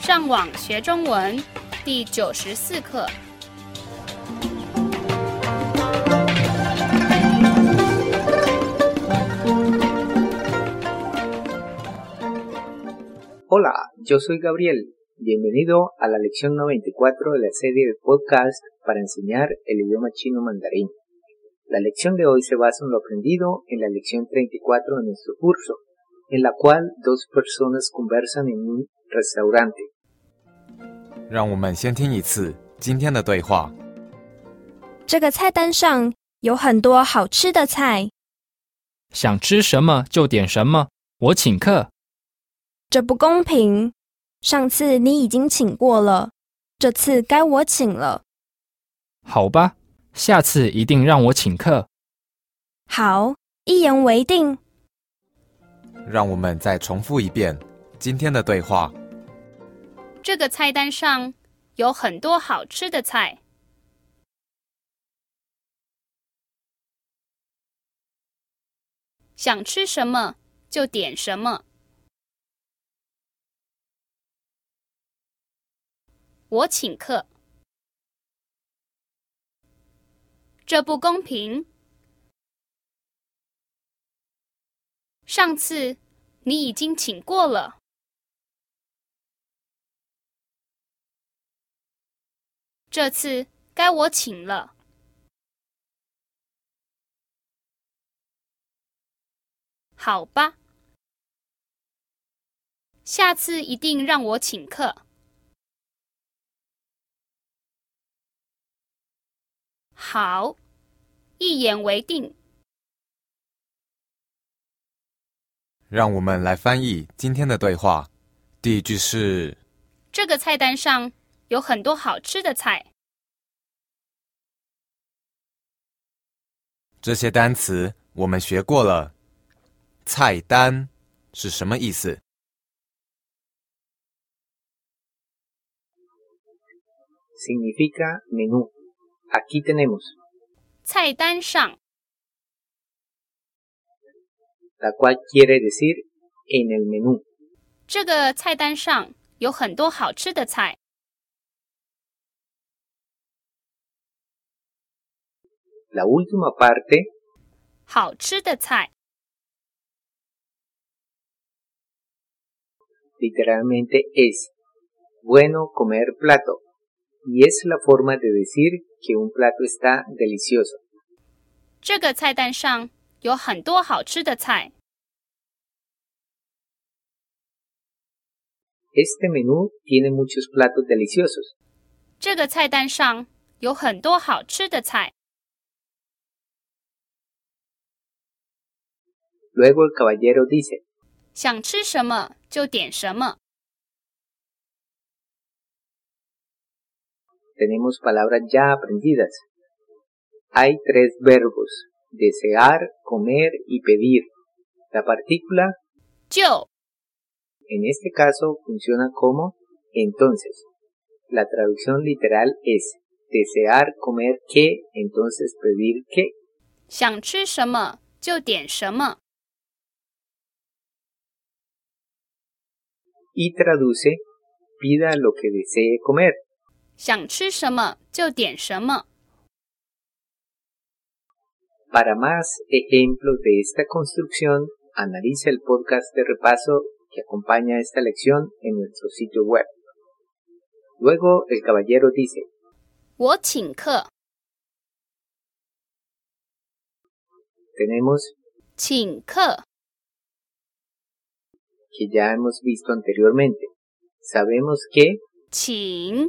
上网学中文第94课。 Hola, yo soy Gabriel. Bienvenido a la lección 94 de la serie de podcast para enseñar el idioma chino mandarín. La lección de hoy se basa en lo aprendido en la lección 34 de nuestro curso, en la cual dos personas conversan en un restaurante. 让我们先听一次今天的对话。 这个菜单上有很多好吃的菜， 想吃什么就点什么，我请客。 这不公平。上次你已经请过了，这次该我请了。 好吧，下次一定让我请客。 好，一言为定。 让我们再重复一遍今天的对话。 这个菜单上有很多好吃的菜。想吃什么就点什么。我请客。这不公平。上次你已经请过了。这次该我请了。好吧，下次一定让我请客。好，一言为定。 让我们来翻译今天的对话。第一句是： 这个菜单上有很多好吃的菜。 这些单词我们学过了。菜单是什么意思？ Significa menú. Aquí tenemos 菜单上 la cual quiere decir en el menú. 这个菜单上有很多好吃的菜。 La última parte 好吃的菜 literalmente es bueno comer plato y es la forma de decir que un plato está delicioso. 这个菜单上有很多好吃的菜。 Este menú tiene muchos platos deliciosos. 这个菜单上有很多好吃的菜。 Luego el caballero dice 想吃什么就点什么。 Tenemos palabras ya aprendidas. Hay tres verbos: desear, comer y pedir. La partícula 就 en este caso funciona como entonces. La traducción literal es desear comer qué, entonces pedir qué. 想吃什么就点什么。 Y traduce pida lo que desee comer. 想吃什么就点什么。 Para más ejemplos de esta construcción, analiza el podcast de repaso que acompaña esta lección en nuestro sitio web. Luego el caballero dice 我请客。 Tenemos 请客 que ya hemos visto anteriormente. Sabemos que 请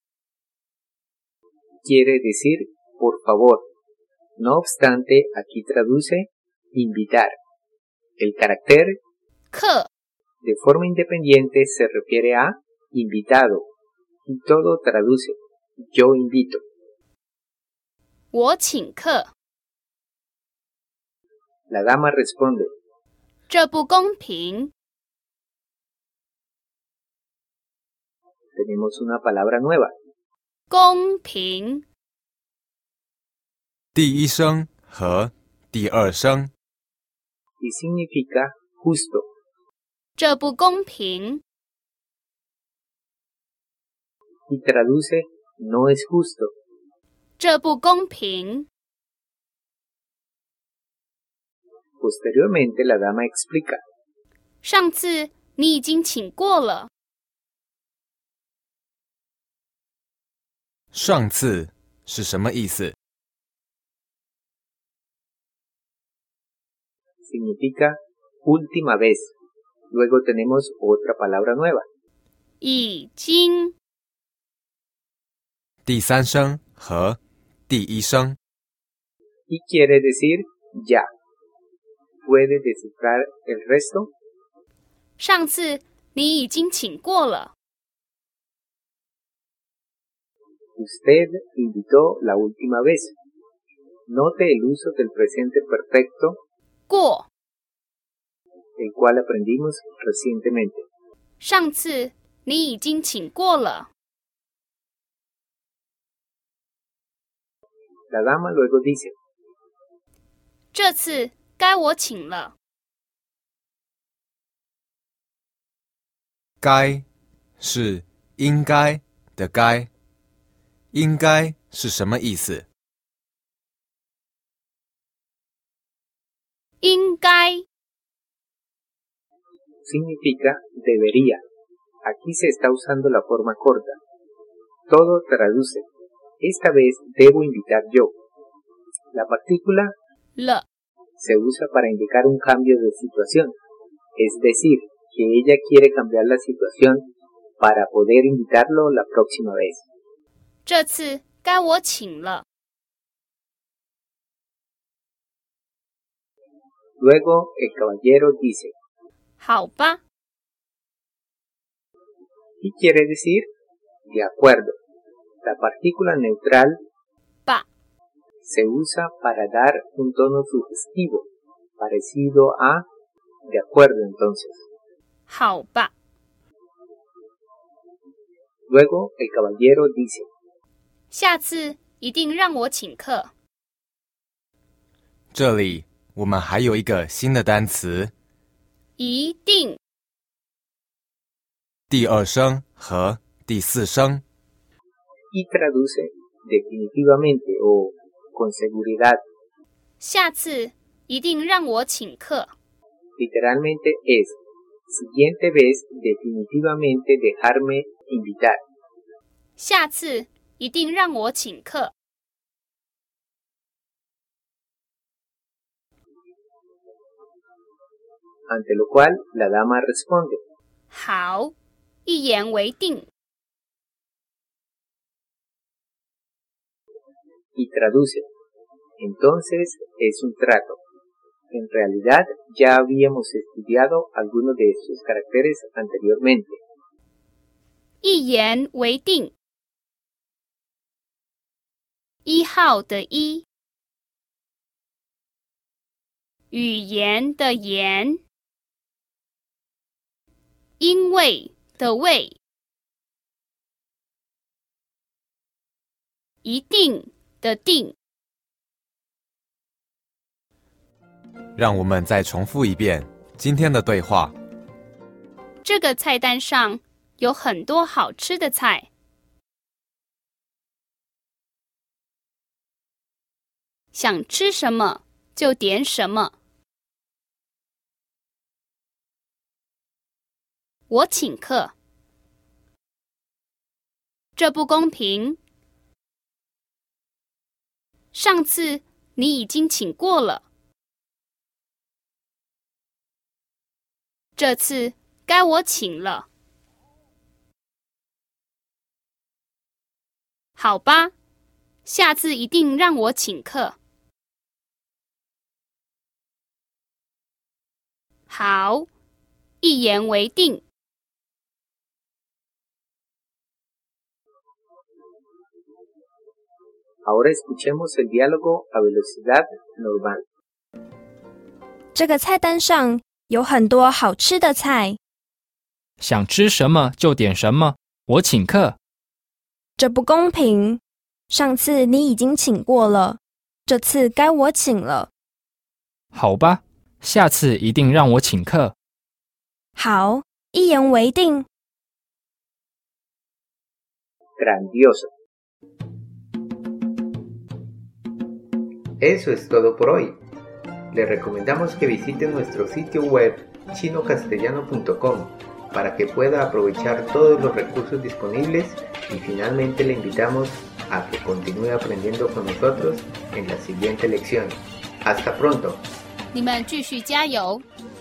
quiere decir por favor. No obstante, aquí traduce invitar. El carácter 客 de forma independiente se refiere a invitado y todo traduce yo invito. 我请客。 La dama responde 这不公平。 Tenemos una palabra nueva. 公平。 第一声和第二声。 Y significa justo. 这不公平。 y traduce no es justo. 这不公平。 Posteriormente, la dama explica. 上次你已经请过了。 上次是什么意思？ Significa última vez. Luego tenemos otra palabra nueva. 已经。 第三声和第一声。 Y quiere decir ya. ¿Puede descifrar el resto? 上次你已经请过了。 Usted invitó la última vez. Note el uso del presente perfecto, 过。 el cual aprendimos recientemente. 上次你已经请过了。 La dama luego dice. 这次该我请了。 该是应该的该，应该是什么意思？ 应该。 Significa debería. Aquí se está usando la forma corta. Todo traduce. Esta vez debo invitar yo. La partícula 了。 se usa para indicar un cambio de situación. Es decir, que ella quiere cambiar la situación para poder invitarlo la próxima vez. 这次该我请了。 Luego el caballero dice. 好吧。 Y quiere decir de acuerdo. La partícula neutral 吧。 se usa para dar un tono sugestivo, parecido a de acuerdo entonces. 好吧。 Luego el caballero dice. 下次一定让我请客。 这里我们还有一个新的单词， 一定。 第二声和第四声。 Y traduce definitivamente o con seguridad. 下次一定让我请客。 Literalmente es, siguiente vez definitivamente dejarme invitar. 下次一定让我请客。 Ante lo cual la dama responde. 好，一言为定。 Y traduce. Entonces es un trato. En realidad ya habíamos estudiado algunos de estos caracteres anteriormente. 一言为定。一号的一，语言的言，因为的为，一定的定。 让我们再重复一遍今天的对话。 这个菜单上有很多好吃的菜。想吃什么就点什么。我请客。这不公平。上次你已经请过了。这次该我请了。好吧，下次一定让我请客。好，一言为定。 Ahora escuchemos el diálogo a velocidad normal. 这个菜单上有很多好吃的菜， 想吃什么就点什么，我请客。 这不公平。上次你已经请过了，这次该我请了。 好吧，下次一定让我请客。 好，一言为定。 grandioso. Eso es todo por hoy. Les recomendamos que visiten nuestro sitio web chinocastellano.com para que pueda aprovechar todos los recursos disponibles y finalmente le invitamos a que continúe aprendiendo con nosotros en la siguiente lección. ¡Hasta pronto! 你们继续加油！